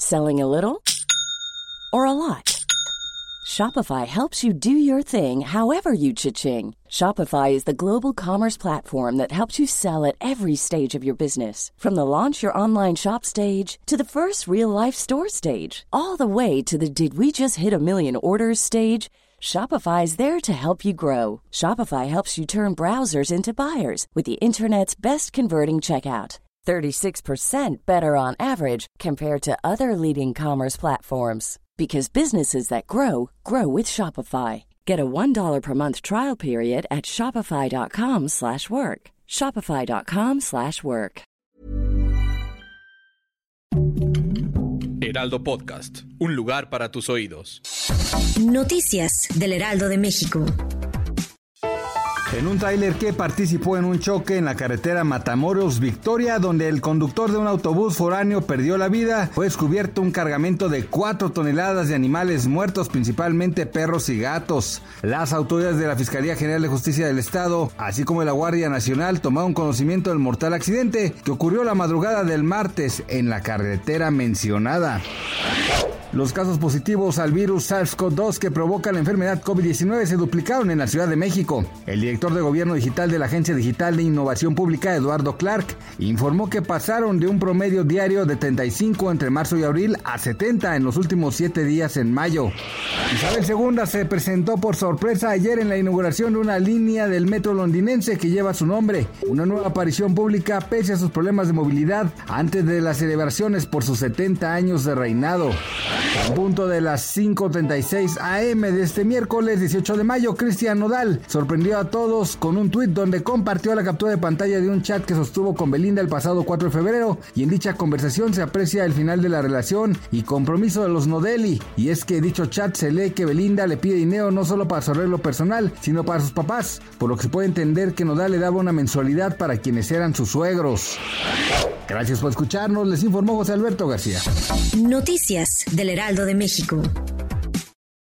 Selling a little or a lot? Shopify helps you do your thing however you cha-ching. Shopify is the global commerce platform that helps you sell at every stage of your business. From the launch your online shop stage to the first real-life store stage, all the way to the did we just hit a million orders stage. Shopify is there to help you grow. Shopify helps you turn browsers into buyers with the internet's best converting checkout. 36% better on average compared to other leading commerce platforms. Because businesses that grow, grow with Shopify. Get a $1 per month trial period at shopify.com/work. Shopify.com/work. Heraldo Podcast, un lugar para tus oídos. Noticias del Heraldo de México. En un tráiler que participó en un choque en la carretera Matamoros-Victoria, donde el conductor de un autobús foráneo perdió la vida, fue descubierto un cargamento de 4 toneladas de animales muertos, principalmente perros y gatos. Las autoridades de la Fiscalía General de Justicia del Estado, así como de la Guardia Nacional, tomaron conocimiento del mortal accidente que ocurrió la madrugada del martes en la carretera mencionada. Los casos positivos al virus SARS-CoV-2 que provoca la enfermedad COVID-19 se duplicaron en la Ciudad de México. El director de Gobierno Digital de la Agencia Digital de Innovación Pública, Eduardo Clark, informó que pasaron de un promedio diario de 35 entre marzo y abril a 70 en los últimos 7 días en mayo. Isabel II se presentó por sorpresa ayer en la inauguración de una línea del metro londinense que lleva su nombre, una nueva aparición pública pese a sus problemas de movilidad antes de las celebraciones por sus 70 años de reinado. A punto de las 5:36 am de este miércoles 18 de mayo, Cristian Nodal sorprendió a todos con un tuit donde compartió la captura de pantalla de un chat que sostuvo con Belinda el pasado 4 de febrero, y en dicha conversación se aprecia el final de la relación y compromiso de los Nodelli, y es que dicho chat se lee que Belinda le pide dinero no solo para su arreglo personal, sino para sus papás, por lo que se puede entender que Nodal le daba una mensualidad para quienes eran sus suegros. Gracias por escucharnos, les informó José Alberto García. Noticias del Heraldo de México.